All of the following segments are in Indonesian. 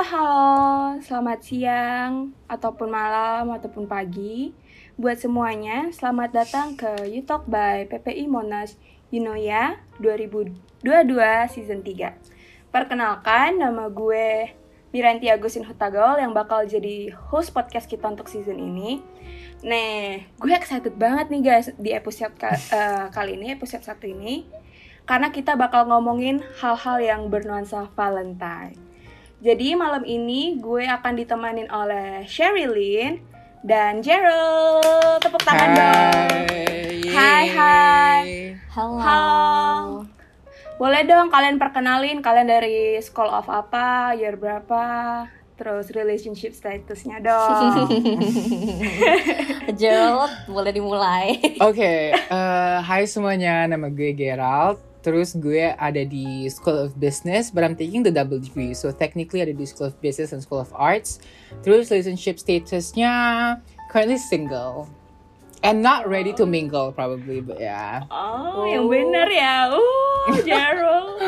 Halo, selamat siang, ataupun malam, ataupun pagi. Buat semuanya, selamat datang ke YouTalk by PPI Monas Yunoya 2022 Season 3. Perkenalkan, nama gue Miranti Agusin Hutagol yang bakal jadi host podcast kita untuk season ini. Nih, gue excited banget nih guys di episode kali ini, episode 1 ini. Karena kita bakal ngomongin hal-hal yang bernuansa Valentine. Jadi malam ini gue akan ditemanin oleh Sherilyn dan Gerald. Tepuk tangan dong. Hai. Halo. Boleh dong kalian perkenalin kalian dari school of apa, year berapa, terus relationship statusnya dong. Gerald, boleh dimulai. Oke, hai semuanya, nama gue Gerald. Terus gue ada di School of Business, but I'm taking the double degree. So technically ada di School of Business and School of Arts. Terus relationship statusnya currently single. And not ready to mingle probably, but yeah. Oh, yang bener ya. Gerald.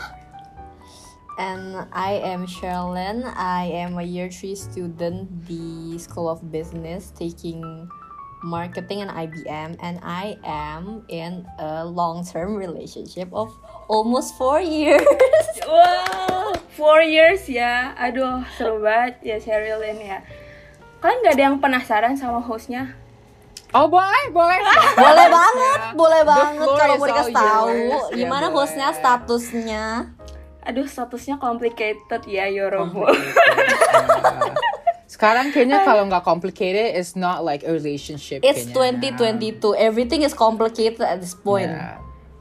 And I am Sherilyn. I am a year 3 student di School of Business taking marketing and IBM, and I am in a long-term relationship of almost 4 years. Wow, 4 years ya. Aduh, seru banget ya Sherilyn ya. Kalian gak ada yang penasaran sama hostnya? Oh boleh. Boleh banget kalau mau dikasih tahu gimana hostnya, statusnya. Aduh, statusnya complicated ya, Yorobo. Sekarang kayaknya kalau nggak complicated, it's not like a relationship. It's kayaknya. 2022. Everything is complicated at this point. Yeah.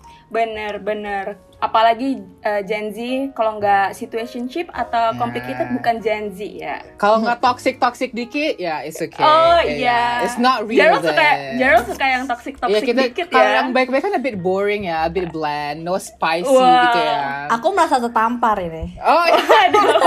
Bener. Apalagi Gen Z, kalau nggak situationship atau complicated bukan Gen Z ya. Kalau nggak toxic dikit, ya it's okay. Oh iya. It's not real. Gerald suka yang toxic dikit kalau ya. yang baik-baik kan a bit boring ya, a bit bland, no spicy gitu ya. Aku merasa tertampar ini. Oh iya.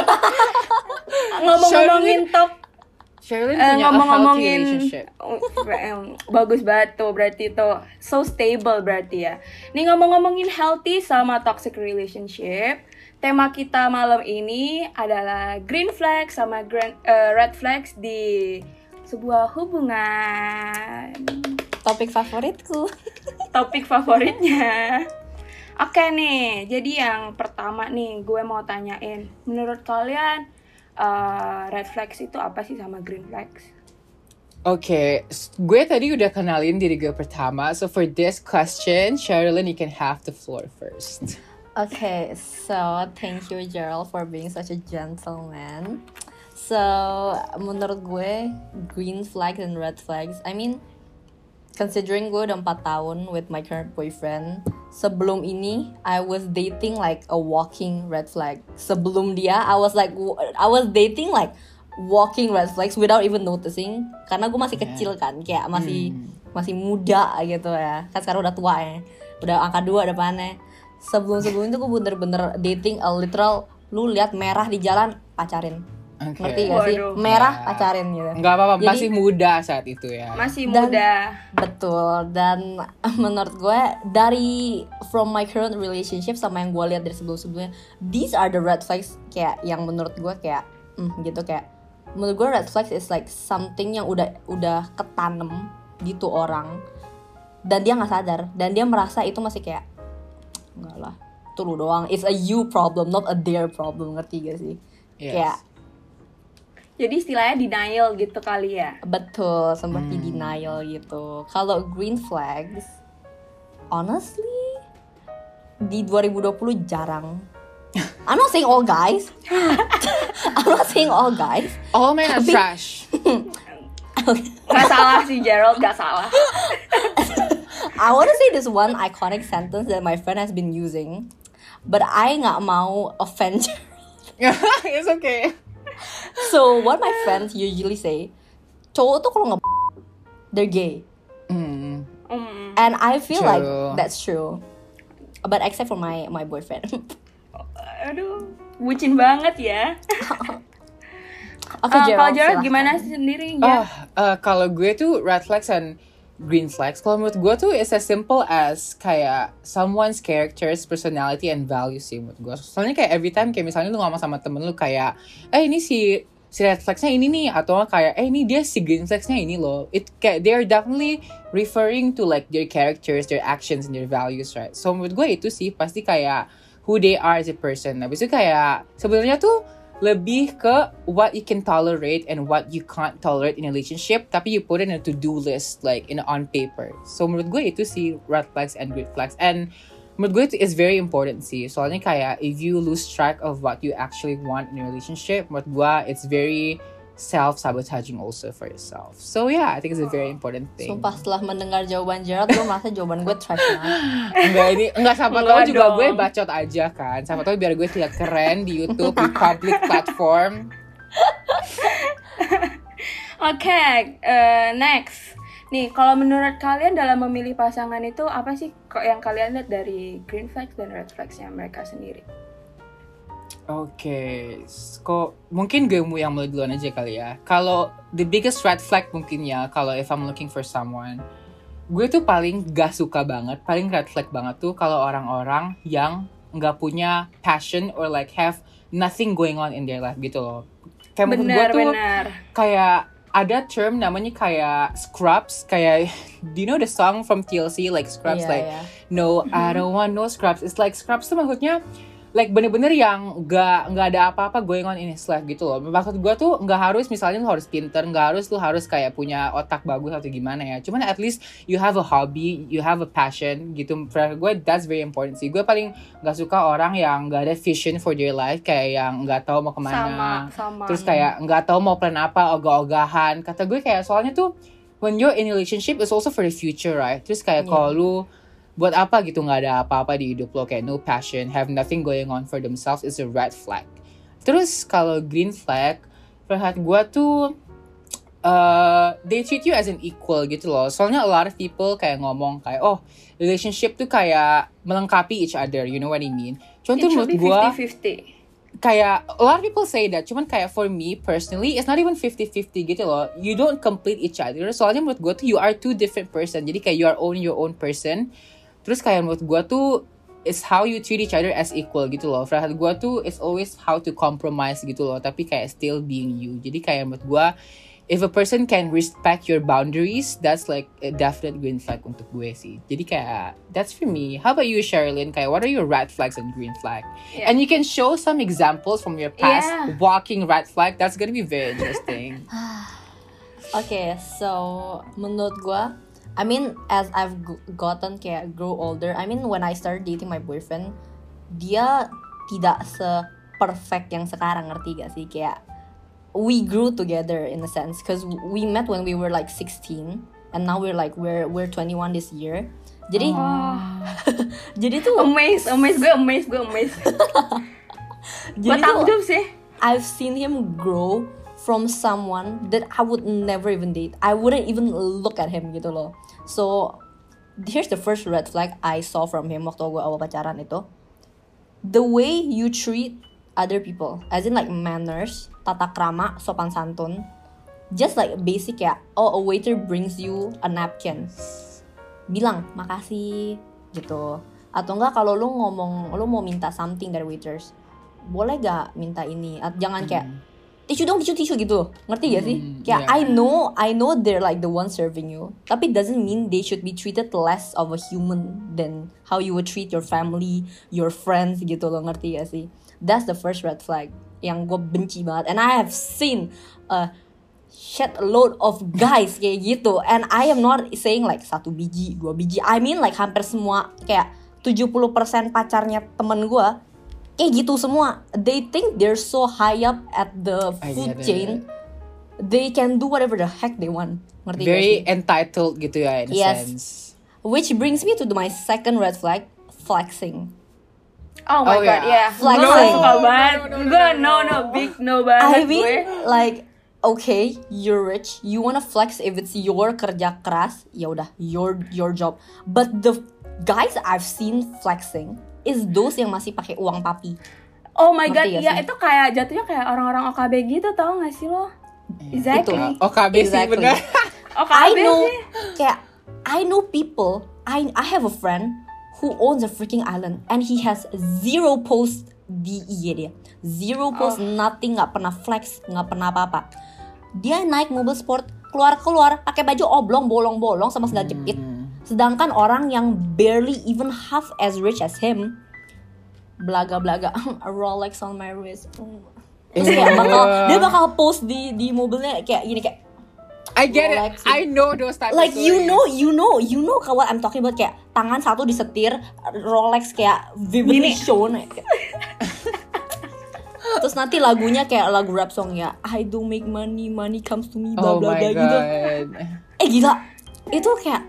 Ngomong-ngomongin Sherilyn punya ngomong-ngomongin a healthy relationship. Bagus banget tuh, berarti tuh so stable berarti ya. Nih ngomong-ngomongin healthy sama toxic relationship, tema kita malam ini adalah green flag sama red flags di sebuah hubungan. Topik favoritku. Topik favoritnya. Oke nih, jadi yang pertama nih gue mau tanyain, menurut kalian red flags itu apa sih sama green flags? Oke, gue tadi udah kenalin diri gue pertama. So for this question, Sherilyn, you can have the floor first. Okay, so thank you Gerald for being such a gentleman. So menurut gue green flags and red flags, I mean considering gue udah 4 tahun with my current boyfriend, sebelum ini I was dating like a walking red flag. Sebelum dia I was dating like walking red flags without even noticing, karena gue masih kecil kan, kayak masih muda gitu ya. Kan sekarang udah tua ya, udah angka 2 depannya. Sebelum itu gue bener-bener dating a literal, lu lihat merah di jalan pacarin. Okay. Ngerti gak sih? Merah pacarin gitu. Nggak apa-apa, Jadi, masih muda saat itu ya. Masih muda. Betul. Dan menurut gue dari from my current relationship sama yang gue lihat dari sebelum-sebelumnya, these are the red flags kayak yang menurut gue kayak gitu, kayak menurut gue red flags is like something yang udah ketanem di tuh orang dan dia nggak sadar dan dia merasa itu masih kayak enggak lah, tuh lu doang, it's a you problem not a their problem, ngerti gak sih? Yes. Kayak jadi istilahnya denial gitu kali ya. betul, seperti denial gitu. Kalau green flags, honestly di 2020 jarang. I'm not saying all guys. All men are trash. Gak salah sih Gerald, gak salah. I want to say this one iconic sentence that my friend has been using, but I nggak mau offend. It's okay. So what my friends usually say, cowok tuh kalau nggak they're gay. And I feel like that's true. But except for my boyfriend. Aduh, bucin banget ya. Oke, Kalau Gerald gimana sendiri? Kalau gue tuh red flags and green flags. Kalau menurut gue tuh it's as simple as kayak someone's characters, personality, and values sih menurut gue. Soalnya kayak every time kayak misalnya lu ngomong sama temen lu kayak, ini si red flagsnya ini nih, atau kayak ini dia si green flagsnya ini loh. It kayak they are definitely referring to like their characters, their actions, and their values, right? So menurut gue itu sih pasti kayak who they are as a person. Habis itu kayak sebenarnya tuh lebih ke what you can tolerate and what you can't tolerate in a relationship, tapi you put it in a to-do list like on paper. So menurut gue itu sih red flags and green flags. And menurut gue itu is very important sih. Soalnya kayak if you lose track of what you actually want in a relationship, menurut gue it's very self-sabotaging also for yourself. So yeah, I think it's a very important thing. Sumpah setelah mendengar jawaban Gerald, gue merasa jawaban gue trash banget. Enggak siapa tahu juga gue bacot aja kan. Siapa tahu biar gue terlihat keren di YouTube, di public platform. Oke, next. Nih, kalau menurut kalian dalam memilih pasangan itu apa sih kok yang kalian lihat dari green flags dan red flagsnya mereka sendiri? Oke, kok mungkin gue yang mulai duluan aja kali ya. Kalau the biggest red flag mungkin ya, kalau if I'm looking for someone, gue tuh paling gak suka banget, paling red flag banget tuh kalau orang-orang yang gak punya passion or like have nothing going on in their life gitu loh. Kayak menurut gue tuh kayak ada term namanya kayak scrubs, kayak do you know the song from TLC like scrubs no I don't want no scrubs. It's like scrubs tuh maksudnya like bener-bener yang nggak ada apa-apa going on in his life gitu loh. Maksud gue tuh nggak harus misalnya lu harus pinter, nggak harus lu harus kayak punya otak bagus atau gimana ya. Cuman at least you have a hobby, you have a passion gitu. For gue that's very important sih. Gue paling nggak suka orang yang nggak ada vision for their life, kayak yang nggak tahu mau kemana. Sama. Terus kayak nggak tahu mau plan apa, ogah-ogahan. Kata gue kayak soalnya tuh when you're in a relationship it's also for the future, right? Terus kayak kalau lu buat apa gitu nggak ada apa-apa di hidup lo, kayak no passion, have nothing going on for themselves, is a red flag. Terus kalau green flag, perhatian gue tuh they treat you as an equal gitu loh. Soalnya a lot of people kayak ngomong kayak relationship tuh kayak melengkapi each other, you know what I mean? Cuman tuh menurut gue 50-50. Kayak a lot of people say that, cuman kayak for me personally it's not even 50-50 gitu loh. You don't complete each other. Soalnya menurut gue tuh you are two different person. Jadi kayak you are your own person. Terus kayak menurut gue tuh it's how you treat each other as equal gitu loh. Menurut gue tuh it's always how to compromise gitu loh. Tapi kayak still being you. Jadi kayak menurut gue if a person can respect your boundaries, that's like a definite green flag untuk gue sih. Jadi kayak that's for me. How about you, Sherilyn? Kayak what are your red flags and green flag? Yeah. And you can show some examples from your past walking red flag. That's gonna be very interesting. Okay, so menurut gue, I mean, as I've gotten kayak grow older, I mean when I started dating my boyfriend, dia tidak se-perfect yang sekarang, ngerti gak sih? Kayak we grew together in a sense, cause we met when we were like 16, and now we're 21 this year. Jadi, jadi tuh amazed gue. Gue takjub sih. I've seen him grow from someone that I would never even date. I wouldn't even look at him gitu loh. So here's the first red flag I saw from him waktu gue awal pacaran itu. The way you treat other people, as in like manners, tata krama, sopan santun. Just like basic ya, a waiter brings you a napkin, bilang makasih gitu. Atau enggak kalau lu mau minta something dari waiters, boleh gak minta ini? Jangan kayak tisu gitu, ngerti gak sih? Kayak I know they're like the one serving you, tapi doesn't mean they should be treated less of a human than how you would treat your family, your friends gitu loh, ngerti gak sih? That's the first red flag yang gue benci banget. And I have seen a shit load of guys kayak gitu, and I am not saying like 1 biji, 2 biji, I mean like hampir semua, kayak 70% pacarnya temen gue kayak gitu semua. They think they're so high up at the food chain. They can do whatever the heck they want. Ngerti very entitled gitu ya in a sense. Which brings me to my second red flag, flexing. Oh my god, yeah. Flexing. No, big no banget. I mean, like, okay, you're rich, you wanna flex if it's your kerja keras, ya udah, your job. But the guys I've seen flexing is those yang masih pakai uang papi. Oh my god, ya itu kayak jatuhnya kayak orang-orang OKB gitu, tau gak sih lo? Exactly. OKB sih bener. OKB I know, sih. kayak I know people. I have a friend who owns a freaking island and he has 0 post di IG dia. 0 post, nothing, nggak pernah flex, nggak pernah apa-apa. Dia naik mobil sport, keluar pakai baju oblong, bolong-bolong sama sandal jepit. Sedangkan orang yang barely even half as rich as him, belaga-belaga, a Rolex on my wrist. Terus kayak dia bakal post di mobilnya kayak gini kayak I get Rolex. it. I know those type like of stories. you know what I'm talking about, kayak tangan satu disetir Rolex kayak vividly shown. Terus nanti lagunya kayak lagu rap song ya, I don't make money, money comes to me, bla Oh bla my bla gitu. god. Gila, itu kayak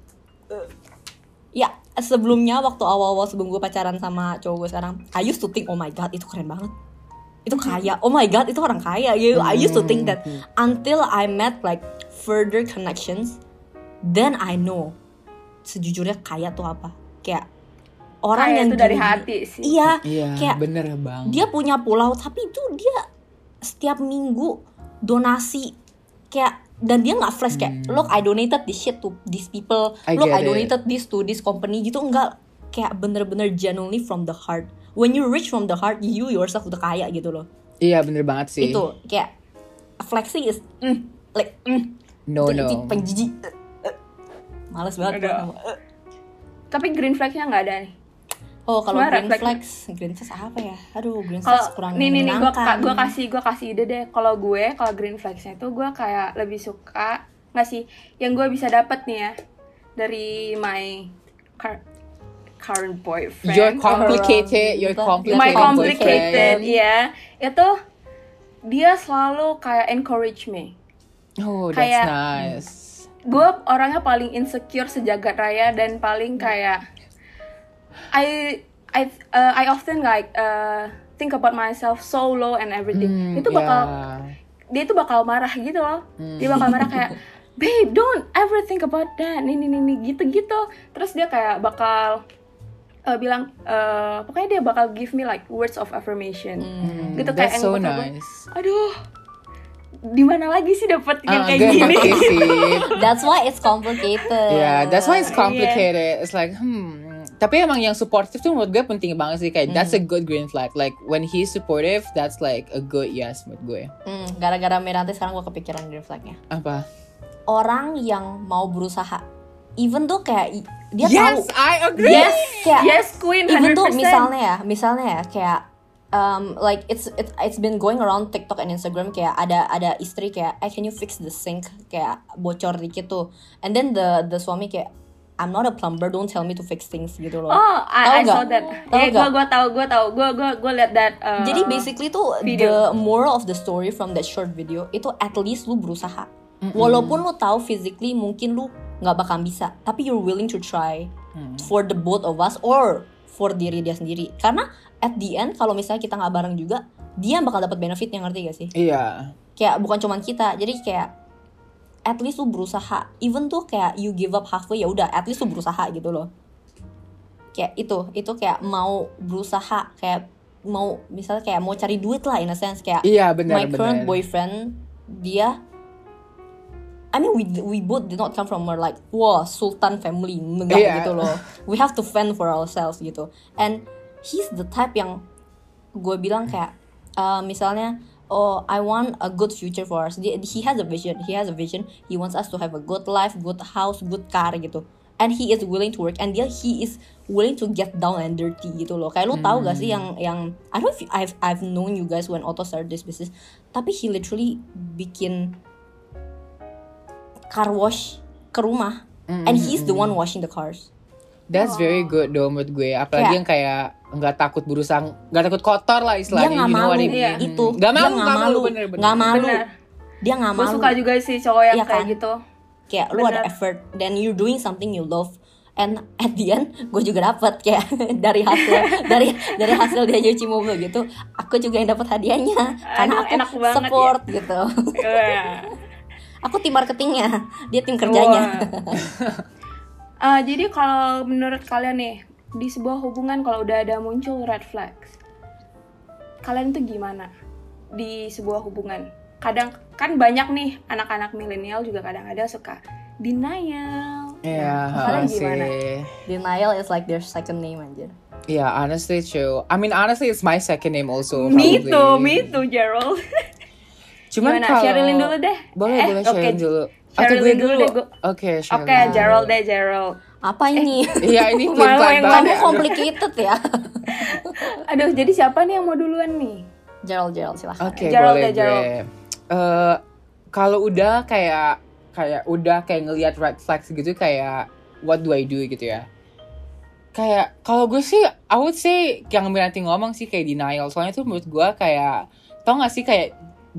ya sebelumnya waktu awal-awal sebelum gue pacaran sama cowok gue sekarang, I used to think oh my god itu keren banget, itu kaya, oh my god itu orang kaya gitu. I used to think that until I met like further connections, then I know sejujurnya kaya tuh apa. Kayak orang Kaya yang itu dari gini-gini. hati sih. Iya, Iya, kayak bener bang. dia punya pulau tapi itu dia setiap minggu donasi kayak, dan dia nggak flash kayak look I donated this shit to these people, look I donated this to this company gitu, enggak, kayak bener-bener genuinely from the heart. When you rich from the heart, you yourself udah kaya gitu loh. Iya bener banget sih. Itu kayak flexing is No. penjijik. Males banget Aduh. gua. Tapi green flag-nya nggak ada nih. Oh kalau Sebenarnya green red flags apa ya? Aduh green Kalau flags kurang nih menyenangkan. gue kasih ide deh. Kalau green flagsnya itu gue kayak lebih suka nggak sih yang gue bisa dapat nih ya dari my current boyfriend. You're complicated. My complicated. complicated, ya. Itu dia selalu kayak encourage me. Oh, that's Kayak- nice. Gue orangnya paling insecure sejagat raya dan paling kayak I often like think about myself so low and everything. Itu bakal dia itu bakal marah gitu loh. Dia bakal marah kayak babe don't ever think about that. Nih gitu. Terus dia kayak bakal bilang pokoknya dia bakal give me like words of affirmation. Gitu kayak That's so bakal gue, nice. aduh, di mana lagi sih dapat yang kayak Gue gini? ngerti sih. That's why it's complicated. Yeah, that's why it's complicated. It's like, Tapi emang yang supportive tuh menurut gue penting banget sih. Kayak, that's a good green flag. Like, when he's supportive, that's like a good yes menurut gue. Gara-gara Meranti sekarang gue kepikiran green flagnya. Apa? Orang yang mau berusaha, even tuh kayak dia Yes, tahu. I agree. Kayak Yes, queen, 100%. even tuh misalnya ya kayak like it's been going around TikTok and Instagram kayak ada istri kayak can you fix the sink, kayak bocor dikit tuh, and then the suami kayak I'm not a plumber, don't tell me to fix things gitu loh. Oh, I Tahu saw nggak? that. Tahu nggak? Gue tahu. Gue liat that. Jadi basically tuh video. the moral of the story from that short video itu at least lu berusaha. Walaupun lu tahu physically mungkin lu nggak bakal bisa, tapi you're willing to try for the both of us or for diri dia sendiri. Karena at the end kalau misalnya kita nggak bareng juga, dia bakal dapat benefitnya, ngerti gak sih? Iya. Kayak bukan cuman kita. Jadi kayak at least lu berusaha. Even tuh kayak you give up halfway, ya udah at least lu berusaha gitu loh. Kayak itu kayak mau berusaha, kayak mau misalnya kayak mau cari duit lah in a sense, kayak Iya, benar. my current boyfriend, dia I mean we both did not come from a like sultan family, enggak gitu loh. We have to fend for ourselves gitu. And he's the type yang gue bilang kayak misalnya I want a good future for us. He has a vision. He wants us to have a good life, good house, good car gitu. And he is willing to work, and he is willing to get down and dirty gitu loh. Kayak lu tahu gak sih yang I don't know if I've known you guys when Otto started this business, tapi he literally bikin car wash ke rumah, and he's the one washing the cars. That's very good though menurut gue. Apalagi yang kayak nggak takut berusaha, nggak takut kotor lah Dia istilahnya. nggak malu Itu. Dia Nggak nggak malu, malu, bener. nggak malu. Bener. Dia nggak Gue malu. suka juga sih cowok yang Iya kayak kan? gitu. Kayak lu ada Bener. effort, then you're doing something you love, and at the end gue juga dapat kayak dari hasil dia nyuci mobil gitu, aku juga yang dapat hadiahnya karena Aduh, enak aku banget support gitu. Iya. Aku tim marketingnya, dia tim kerjanya. Jadi kalau menurut kalian nih, di sebuah hubungan kalau udah ada muncul red flags, kalian tuh gimana di sebuah hubungan? Kadang kan banyak nih anak-anak milenial juga kadang-kadang suka denial Yeah, Kalian gimana? sih. Denial is like their second name anjir. Yeah, honestly true. I mean, honestly, it's my second name also. Me probably. too, Gerald. Cuman Gimana? kalau Sherilyn dulu deh. Boleh Sherilyn dulu. Atau gue Sherilyn dulu. deh. Oke, Sherilyn. Oke, Gerald deh, Gerald. Apa ini? Iya, ini Mau pelan-pelan yang banget Kamu ya. complicated ya. Aduh, jadi siapa nih yang mau duluan nih? Gerald silahkan. Oke, Gerald boleh deh, Gerald. gue. Kalau udah kayak udah kayak ngelihat red flags gitu, kayak what do I do gitu ya. Kayak kalau gue sih I would say yang nanti ngomong sih kayak denial. Soalnya tuh menurut gue kayak, tau gak sih kayak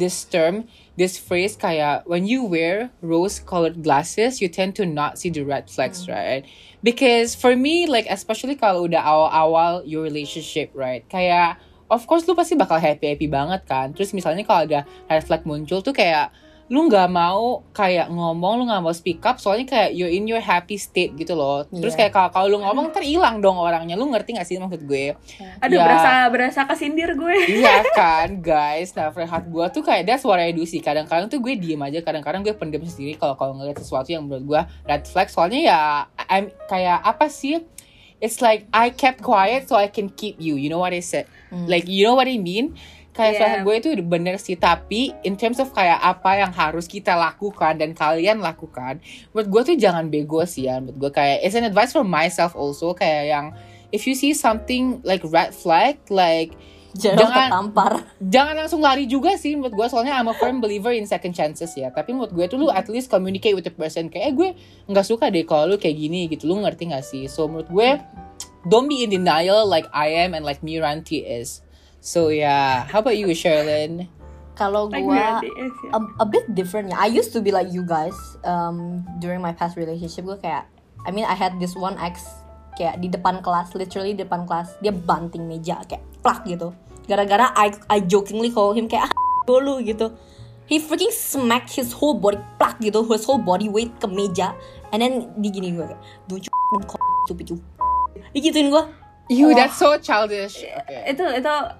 this phrase kayak when you wear rose colored glasses you tend to not see the red flags, right? Because for me, like especially kalau udah awal-awal your relationship, right? Kayak of course lu pasti bakal happy banget kan. Terus misalnya kalau ada red flag muncul tuh kayak lu nggak mau kayak ngomong, lu nggak mau speak up, soalnya kayak you're in your happy state gitu loh. Terus Iya. kayak kalau lu ngomong ntar hilang dong orangnya. Lu ngerti gak sih maksud gue? Aduh, Ya. berasa kesindir gue. Iya kan guys. Nah Frehat gue tuh kayak that's what I do sih. Kadang-kadang tuh gue diem aja, kadang-kadang gue pendem sendiri kalau ngeliat sesuatu yang menurut gue red flag. Soalnya ya I'm kayak apa sih, it's like I kept quiet so I can keep you. You know what I said? Like you know what I mean? Kayak Yeah. Frehat gue itu bener sih. Tapi in terms of kayak apa yang harus kita lakukan dan kalian lakukan, menurut gue tuh jangan bego sih ya. Menurut gue kayak it's an advice for myself also. Kayak yang if you see something like red flag, like Gerald Jangan- ketampar. jangan langsung lari juga sih menurut gue. Soalnya I'm a firm believer in second chances ya. Tapi menurut gue tuh lu at least communicate with the person. Kayak gue gak suka deh kalau lu kayak gini gitu. Lu ngerti gak sih? So menurut gue don't be in denial like I am and like Miranti is. So yeah, how about you, Sherilyn? Kalau Like gua Miranti is, ya. a bit different ya. I used to be like you guys during my past relationship. Gue kayak, I mean I had this one ex kayak di depan kelas, literally di depan kelas dia banting meja kayak plak gitu. Gara-gara I jokingly call him kayak dulu gitu. He freaking smacked his whole body plak gitu, his whole body weight ke meja, and then diginiin gue kayak, don't you stupid you. Digituin gue. You, that's so childish. Okay. Itu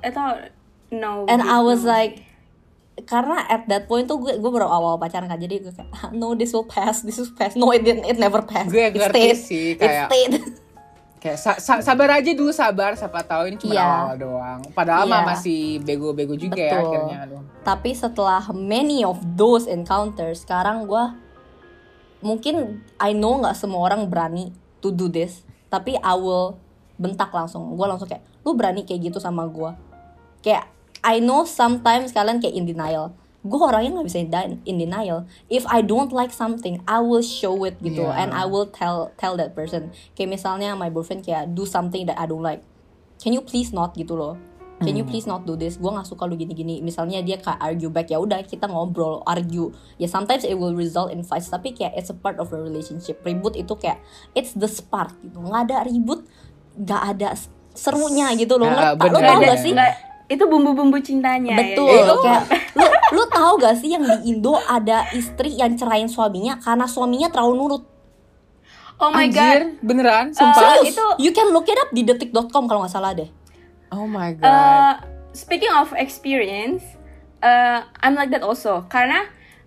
no. And I was no. like, karena at that point tuh gue baru awal pacaran kan, jadi gue kayak no, this will pass. No, it didn't, it never passed. Gue It ngerti stayed. sih, It kayak- stayed. Kayak sabar aja dulu, siapa tahu ini cuma Iya. awal doang. Padahal Iya. mah masih bego-bego juga ya Betul. akhirnya. Aduh. Tapi setelah many of those encounters, sekarang gue mungkin I know nggak semua orang berani to do this, tapi I will bentak langsung. Gue langsung kayak, lu berani kayak gitu sama gue? Kayak I know sometimes kalian kayak in denial. Gue orangnya nggak bisa in denial. If I don't like something, I will show it gitu, Yeah. and I will tell that person. Kayak misalnya my boyfriend kayak do something that I don't like. Can you please not gitu loh? Can you please not do this? Gue nggak suka lu gini-gini. Misalnya dia kayak argue back, ya udah kita ngobrol, argue. Ya sometimes it will result in fights, tapi kayak it's a part of a relationship. Ribut itu kayak it's the spark gitu. Nggak ada ribut, nggak ada serunya gitu loh. Ah, Lu bener. tau Nggak gak ada- sih? nggak- itu bumbu-bumbu cintanya. Betul, Ya. kayak lu tahu gak sih yang di Indo ada istri yang cerain suaminya karena suaminya terlalu nurut. Oh my god. Anjir, beneran? Sumpah? Serius, itu- you can look it up di detik.com kalau nggak salah deh. Oh my god. Speaking of experience, I'm like that also. Karena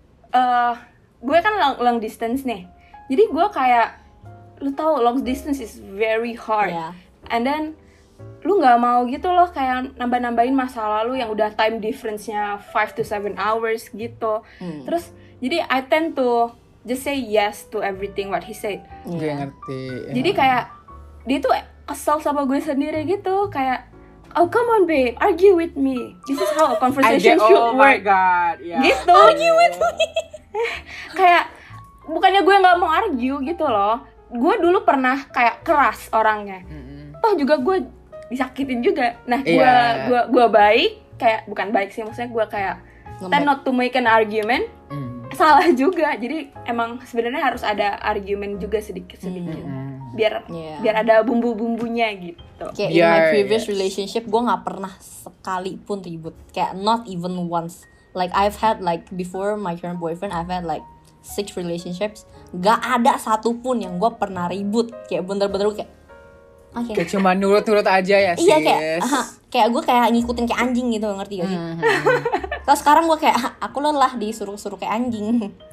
gue kan long distance nih. Jadi gue kayak, lu tahu long distance is very hard. Yeah. And then lu nggak mau gitu loh kayak nambah-nambahin masa lalu yang udah time difference-nya 5 to 7 hours gitu. Terus jadi I tend to just say yes to everything what he said. Gue ngerti. Jadi kayak dia tuh kesel sama gue sendiri gitu, kayak oh come on babe, argue with me. This is how a conversation should oh my work. god. Yeah. Gitu. Argue with me. Kayak bukannya gue nggak mau argue gitu loh. Gue dulu pernah kayak keras orangnya. Toh juga gue disakitin juga. Nah, gue baik, kayak bukan baik sih, maksudnya gue kayak tend not to make an argument. Salah juga. Jadi emang sebenarnya harus ada argument juga sedikit-sedikit. Biar Yeah. biar ada bumbu-bumbunya gitu. Kayak in my Biar- previous yes. relationship gue nggak pernah sekalipun ribut. Kayak not even once. Like I've had like before my current boyfriend, I've had like 6 relationships. Gak ada satupun yang gue pernah ribut. Kayak bener-bener kayak oke. Kayak cuma nurut-nurut aja ya sis. Iya kayak gue kayak ngikutin kayak anjing gitu, ngerti gak sih? Terus sekarang gue kayak aku lelah disuruh kayak anjing.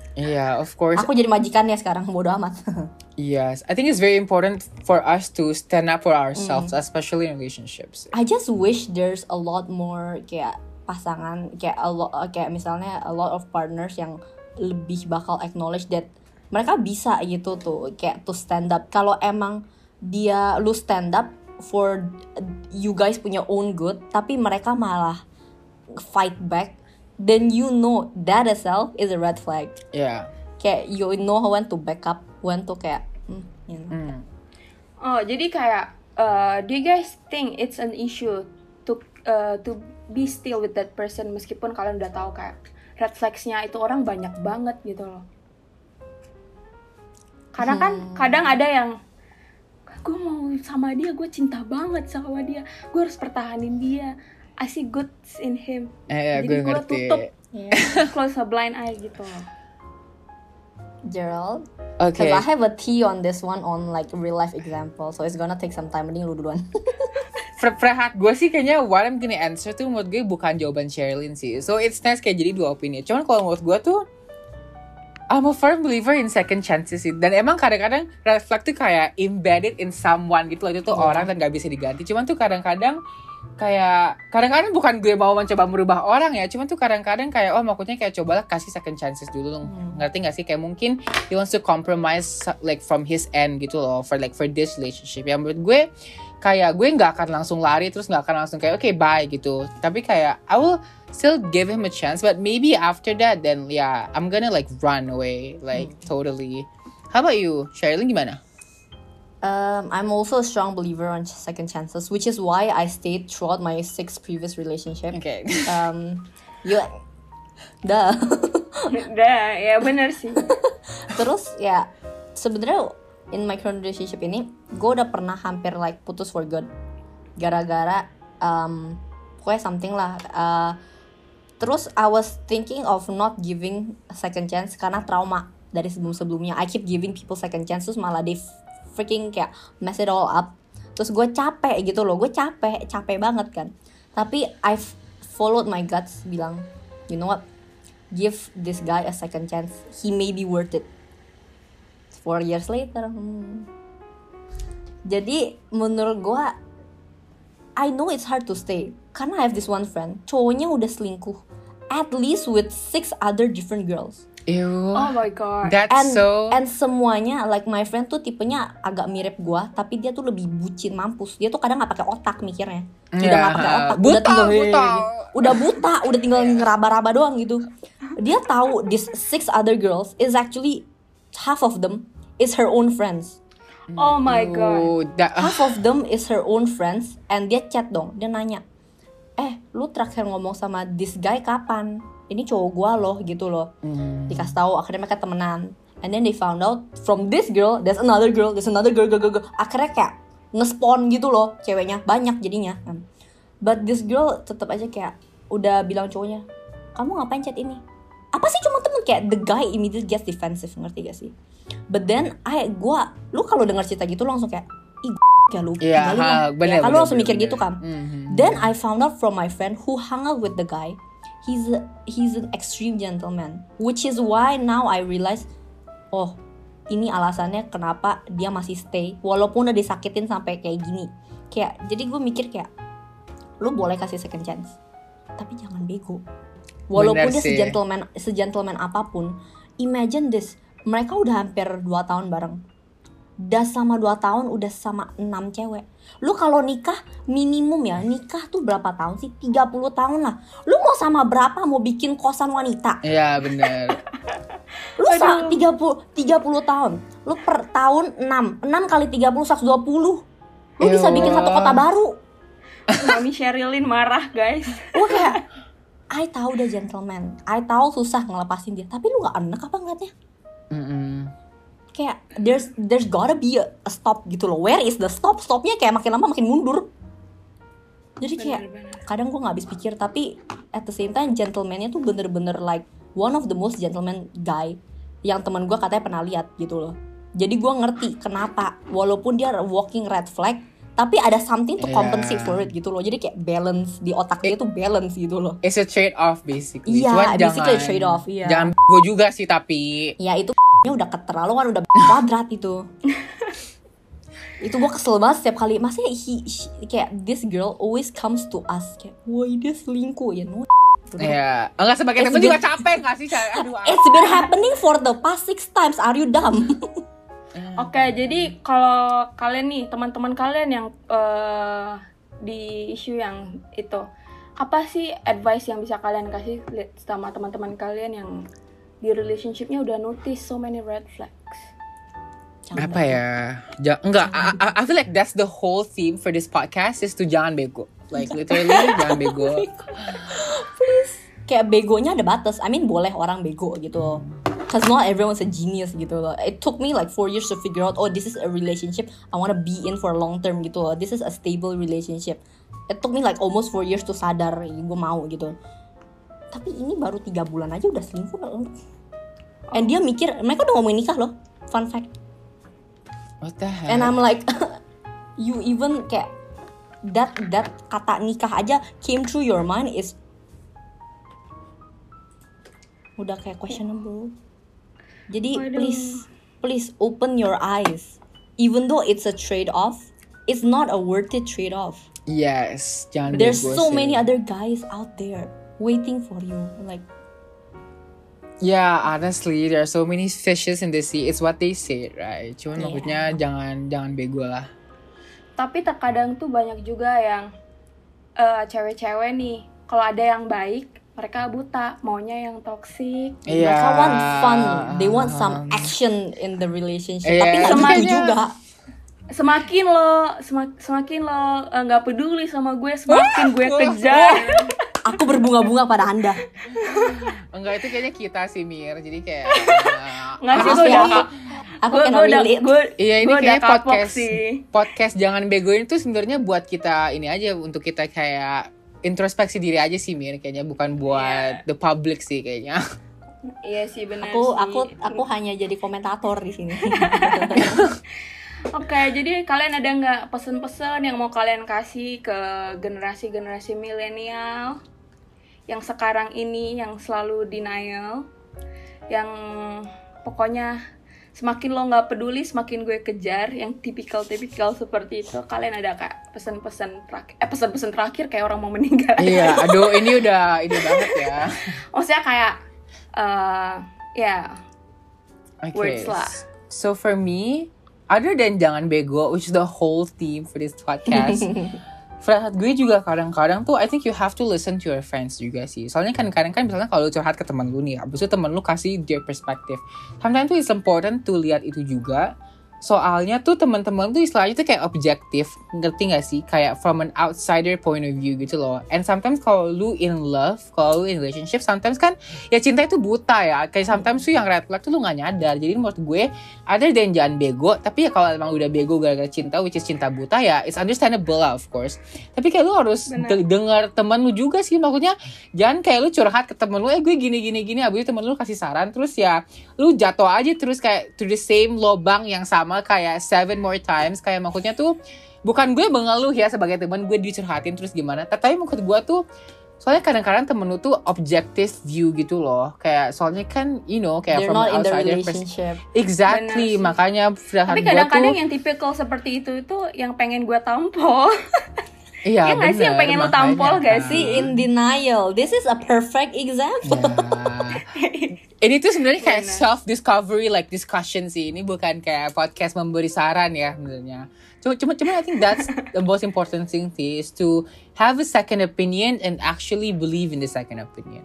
Yeah, of course. Aku jadi majikannya sekarang, bodo amat. Yes, I think it's very important for us to stand up for ourselves, especially in relationships. I just wish there's a lot more kayak pasangan, kayak misalnya a lot of partners yang lebih bakal acknowledge that mereka bisa gitu tuh, kayak to stand up. Kalau emang lu stand up for you guys punya own good, tapi mereka malah fight back, then you know that itself is a red flag. Yeah. Kayak you know when to back up, when to kayak you know. Oh, jadi kayak do you guys think it's an issue to be still with that person meskipun kalian udah tahu kayak red flags-nya itu orang banyak banget gitu loh. Karena kan kadang ada yang gue mau sama dia, gue cinta banget sama dia, gue harus pertahanin dia, I see good in him. Jadi gue tutup close a blind eye gitu loh. Gerald, Okay. because I have a tea on this one on like real life example, so it's gonna take some time. Mending lu duluan. Frehat, gue sih kayaknya what I'm gonna answer tuh menurut gue bukan jawaban Sherilyn sih. So it's nice kayak jadi dua opini. Cuman kalau menurut gue tuh I'm a firm believer in second chances sih. Dan emang kadang-kadang red flag tuh kayak embedded in someone gitu loh. Itu tuh orang dan gak bisa diganti. Cuman tuh kadang-kadang bukan gue mau mencoba merubah orang ya. Cuman tuh kadang-kadang kayak maksudnya kayak cobalah kasih second chances dulu. Ngerti gak sih? Kayak mungkin he wants to compromise like from his end gitu loh. For this relationship. Yang menurut gue kayak gue gak akan langsung lari. Terus gak akan langsung kayak okay bye gitu. Tapi kayak I will still give him a chance, but maybe after that then yeah I'm gonna like run away like totally. How about you, Sherilyn, gimana? I'm also a strong believer on second chances, which is why I stayed throughout my 6 previous relationship. Okay. Duh. Udah, ya bener sih. Terus ya sebenarnya in my current relationship ini gue udah pernah hampir like putus for good gara-gara pokoknya something lah. Terus I was thinking of not giving a second chance karena trauma dari sebelum-sebelumnya. I keep giving people second chance, terus malah they freaking kayak mess it all up. Terus gue capek gitu loh, gue capek banget kan. Tapi I've followed my guts, bilang, you know what, give this guy a second chance, he may be worth it. 4 years later, Jadi menurut gue, I know it's hard to stay karena I have this one friend, cowoknya udah selingkuh at least with 6 other different girls. Ew. Oh my god. That's And semuanya like my friend tuh tipenya agak mirip gua, tapi dia tuh lebih bucin mampus. Dia tuh kadang nggak pakai otak mikirnya. Udah nggak pakai otak, udah buta, udah tinggal ngeraba-raba doang gitu. Dia tahu this 6 other girls is actually half of them is her own friends. Oh my god. Half of them is her own friends, and dia chat dong, dia nanya, lu terakhir ngomong sama this guy kapan? Ini cowok gua loh gitu loh. Dikasih tahu, akhirnya mereka temenan. And then they found out from this girl, there's another girl. Akhirnya kayak nge-spawn gitu loh, ceweknya banyak jadinya. But this girl tetap aja kayak udah bilang cowoknya, kamu ngapain chat ini? Apa sih cuma temen, kayak the guy immediately gets defensive, ngerti gak sih? But then lu kalau denger cerita gitu lu langsung kayak ya lu tinggalin lah. Ya, kan lu langsung mikir gitu kan. Then I found out from my friend who hung out with the guy, he's an extreme gentleman, which is why now I realize, oh ini alasannya kenapa dia masih stay walaupun udah disakitin sampai kayak gini. Kayak jadi gue mikir kayak lu boleh kasih second chance, tapi jangan bego. Walaupun dia se-gentleman apapun. Imagine this, mereka udah hampir 2 tahun bareng. Udah sama 2 tahun, udah sama 6 cewek. Lu kalau nikah, minimum ya, nikah tuh berapa tahun sih? 30 tahun lah. Lu mau sama berapa? Mau bikin kosan wanita? Iya bener. Lu 30 tahun. Lu per tahun 6 kali 30, 120. Lu bisa bikin satu kota baru. Mami Sherilyn marah guys. Gue kayak, I tahu udah gentleman, I tahu susah ngelepasin dia, tapi lu gak enak apa ngeliatnya? Kayak there's gotta be a stop gitu loh. Where is the stop? Stopnya kayak makin lama makin mundur. Jadi kayak kadang gue gak habis pikir, tapi at the same time gentleman-nya tuh bener-bener like one of the most gentleman guy yang teman gue katanya pernah lihat gitu loh. Jadi gue ngerti kenapa walaupun dia walking red flag, tapi ada something to compensate for it gitu loh. Jadi kayak balance di otak dia tuh balance gitu loh. It's a trade off basically. Iya, Cuman basically a trade off. Iya. Jangan gue juga sih tapi. Ya itu nya udah keterlaluan, udah kuadrat itu. Itu gue kesel banget setiap kali. Maksudnya kayak this girl always comes to us kayak, woi dia selingkuh ya, no. Ya, enggak sebagai temen juga capek nggak sih? Aduh. It's been happening for the past 6 times. Are you dumb? Oke, jadi kalau kalian nih, teman-teman kalian yang di isu yang itu, apa sih advice yang bisa kalian kasih sama teman-teman kalian yang di relationship-nya udah notice so many red flags? Apa ya? Enggak, I feel like that's the whole theme for this podcast is to jangan bego. Like literally jangan bego. Please. Kayak begonya ada batas. I mean boleh orang bego gitu. Cause not everyone's a genius gitu loh. It took me like 4 years to figure out, oh this is a relationship I wanna be in for long term gitu loh. This is a stable relationship. It took me like almost 4 years to sadar gue mau gitu. Tapi ini baru 3 bulan aja udah selingkuh loh. And dia mikir, mereka udah ngomongin nikah loh. Fun fact. What the heck? And I'm like, you even kayak that kata nikah aja came through your mind is udah kayak questionable. Jadi please open your eyes. Even though it's a trade off, it's not a worth it trade off. Yes, jangan There's bego so sih. many other guys out there waiting for you. Like, yeah, honestly, there are so many fishes in the sea. It's what they say, right? Cuman maksudnya jangan bego lah. Tapi terkadang tuh banyak juga yang cewek-cewek nih, kalau ada yang baik, mereka buta, maunya yang toksik. mereka want fun, they want some action in the relationship. Tapi nggak Semuanya- gitu juga. Semakin lo nggak peduli sama gue, semakin gue kejar. Aku berbunga-bunga pada Anda. Enggak, itu kayaknya kita sih Mir. Jadi kayak Nggak sih, Maaf gue ya, udah aku cannot relate. iya, ini gue udah kayak kapok sih. podcast jangan begoin itu sebenarnya buat kita ini aja, untuk kita kayak introspeksi diri aja sih Mir, kayaknya bukan buat the public sih kayaknya. Iya sih benar Aku sih. aku hanya jadi komentator di sini. Oke, jadi kalian ada nggak pesan-pesan yang mau kalian kasih ke generasi milenial yang sekarang ini, yang selalu denial, yang pokoknya semakin lo nggak peduli, semakin gue kejar, yang tipikal seperti itu. Kalian ada kak pesan-pesan terakhir kayak orang mau meninggal? Iya, aduh ini udah banget ya. Maksudnya kayak Okay. words lah. So for me, other than jangan bego, which is the whole theme for this podcast, Friend gue juga kadang-kadang tuh I think you have to listen to your friends juga sih. Soalnya kan kadang misalnya kalau lu curhat ke teman lu nih, abis itu teman lu kasih their perspective. Sometimes tuh it's important to lihat itu juga. Soalnya tuh teman-teman tuh istilahnya tuh kayak objektif, ngerti gak sih? Kayak from an outsider point of view gitu loh. And sometimes kalau lu in love, kalau lu in relationship, sometimes kan ya cinta itu buta ya. Kayak sometimes tuh yang red flag tuh lu gak nyadar. Jadi menurut gue, ada dan jangan bego. Tapi ya kalau emang udah bego gara-gara cinta, which is cinta buta ya, it's understandable lah of course. Tapi kayak lu harus denger temen lu juga sih. Maksudnya jangan kayak lu curhat ke temen lu, gue gini, abis itu temen lu kasih saran, terus ya lu jatuh aja terus kayak to the same lobang yang sama kayak 7 more times. Kayak maksudnya tuh bukan gue mengeluh ya sebagai teman, gue dicurhatin terus gimana, tapi maksud gue tuh soalnya kadang-kadang temen lu tuh objective view gitu loh. Kayak soalnya kan you know kayak They're from not in the outsider relationship. Exactly, makanya Tapi kadang-kadang yang tipikal seperti itu yang pengen gue tampol. iya nggak sih, yang pengen lu tampol gak See, in denial. This is a perfect example. Ini tuh sebenarnya kayak self discovery like discussion sih. Ini bukan kayak podcast memberi saran ya sebenarnya. Cuma I think that's the most important thing is to have a second opinion and actually believe in the second opinion.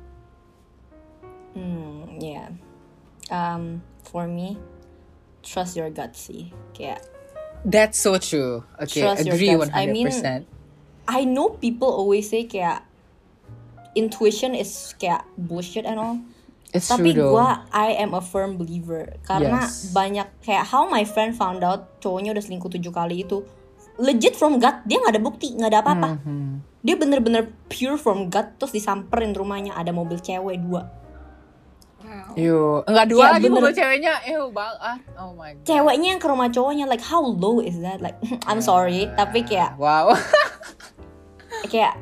Yeah. For me, trust your gut sih. Kayak That's so true. Okay, trust your agree guts. 100%. I mean, I know people always say kayak intuition is kayak bullshit and all. It's Tapi true though. I am a firm believer. Karena Yes. banyak kayak how my friend found out cowoknya udah selingkuh 7 kali itu. Legit from gut, dia gak ada bukti, gak ada apa-apa. Dia bener-bener pure from gut, terus disamperin rumahnya, ada mobil cewek 2. Yo, enggak dua Ya, lagi bener. pukul ceweknya. Banget. Oh my god. Ceweknya yang ke rumah cowoknya, like how low is that? Like I'm sorry, tapi kayak Wow. kayak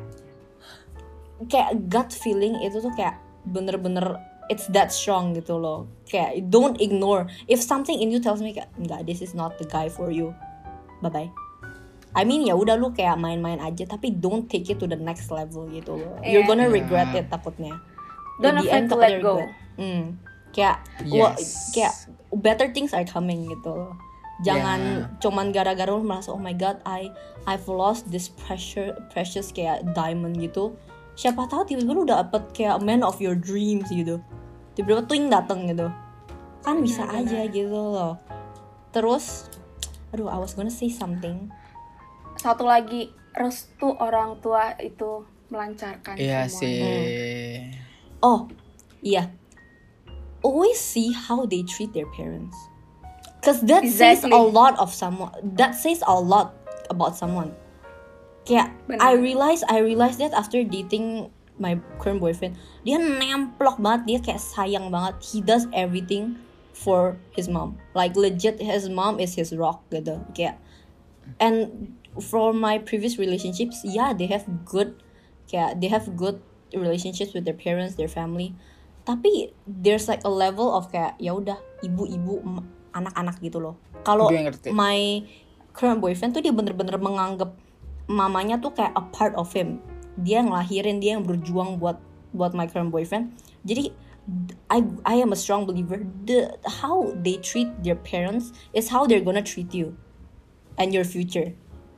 gut feeling itu tuh kayak bener-bener it's that strong gitu loh. Kayak don't ignore if something in you tells me kayak enggak, this is not the guy for you, bye bye. I mean ya udah lu kayak main-main aja, tapi don't take it to the next level gitu loh. You're gonna regret it takutnya. Don't At the afraid end, to takutnya let go. regret. Kayak kayak better things are coming gitu loh. Jangan cuman gara-gara lu merasa oh my god I've lost this precious kayak diamond gitu. Siapa tahu tiba-tiba lu dapet kayak man of your dreams gitu. Tiba-tiba twing dateng gitu. Kan bisa aja gitu loh. Terus I was gonna say something. Satu lagi, restu orang tua itu melancarkan Iya semua. sih. Oh, iya. Always see how they treat their parents. Cause that says Exactly. a lot of someone. That says a lot about someone. Kayak Bener. I realized that after dating my current boyfriend, dia nemplok banget, dia kayak sayang banget. He does everything for his mom. Like legit, his mom is his rock gitu. Kayak and for my previous relationships, yeah, they have good relationships with their parents, their family. Tapi there's like a level of kayak ya udah ibu-ibu anak-anak gitu loh. Kalau Gue ngerti. my current boyfriend tuh dia bener-bener menganggap mamanya tuh kayak a part of him. Dia ngelahirin, dia yang berjuang buat my current boyfriend. Jadi I am a strong believer. How they treat their parents is how they're gonna treat you and your future.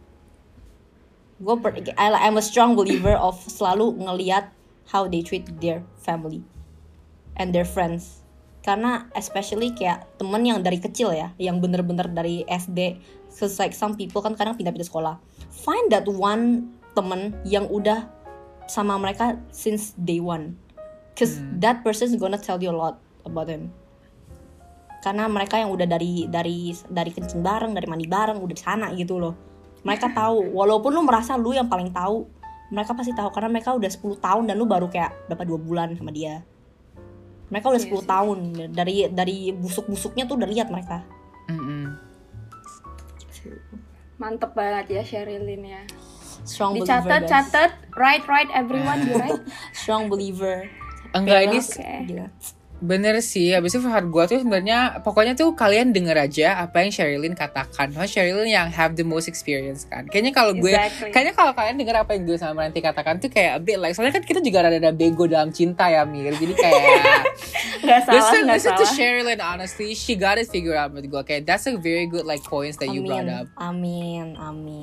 I'm a strong believer of selalu ngeliat how they treat their family and their friends. Karena especially kayak temen yang dari kecil ya, yang bener-bener dari SD. Cause like some people kan kadang pindah-pindah sekolah. Find that one temen yang udah sama mereka since day one. Cause that person is gonna tell you a lot about them. Karena mereka yang udah dari kencing bareng, dari mandi bareng, udah di sana gitu loh. Mereka tahu, walaupun lu merasa lu yang paling tahu, mereka pasti tahu karena mereka udah 10 tahun dan lu baru kayak berapa 2 bulan sama dia. Mereka udah 10 tahun dari busuk-busuknya tuh udah lihat mereka. Mantep banget ya Sherilyn ya. Strong believer. Dicatat, write everyone, you write. Strong believer. Enggak, ini Gila. bener sih. Habis itu Fahad gue tuh sebenarnya pokoknya tuh kalian denger aja apa yang Sherilyn katakan. Karena Sherilyn yang have the most experience kan. Kayaknya kalau kayaknya kalau kalian denger apa yang gue sama Ranti katakan tuh kayak a bit like, soalnya kan kita juga rada bego dalam cinta ya Mir. Jadi kayak Gak salah, listen to Sherilyn, honestly, she got it figured out with gue. Kayak that's a very good like points that you brought up. Amin.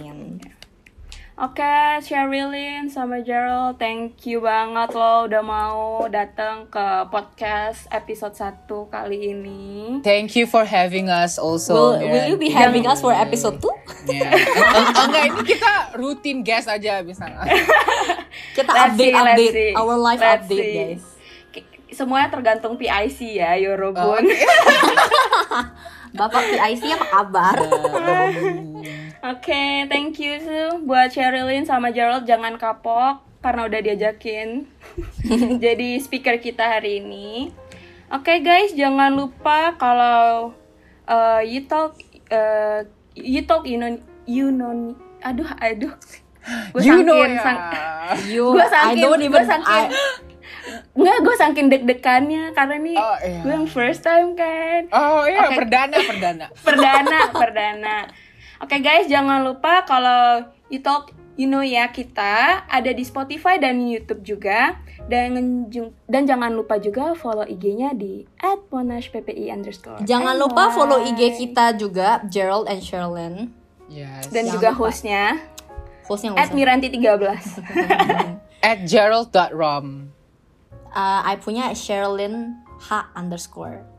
Oke, Sherilyn sama Gerald, thank you banget lo udah mau datang ke podcast episode 1 kali ini. Thank you for having us also. Will you be having us for episode 2? Yeah. Enggak, ini kita rutin guest aja misalnya. Kita Let's update see. our live Let's update see. guys. Semuanya tergantung PIC ya, Yorobun. Bapak PIC apa kabar? Oke, thank you buat Sherilyn sama Gerald, jangan kapok karena udah diajakin jadi speaker kita hari ini. Oke guys, jangan lupa kalau you talk aduh gue saking deg-degannya karena nih gue yang first time kan. Perdana. Oke guys, jangan lupa kalau You Talk You Know ya kita ada di Spotify dan YouTube juga. Dan jangan lupa juga follow IG-nya di @monashppi_. Jangan lupa follow IG kita juga, Gerald and Sherilyn. Yes. Dan Jangan juga lupa. hostnya Miranti13. @gerald.rom. I punya Sherilyn H_.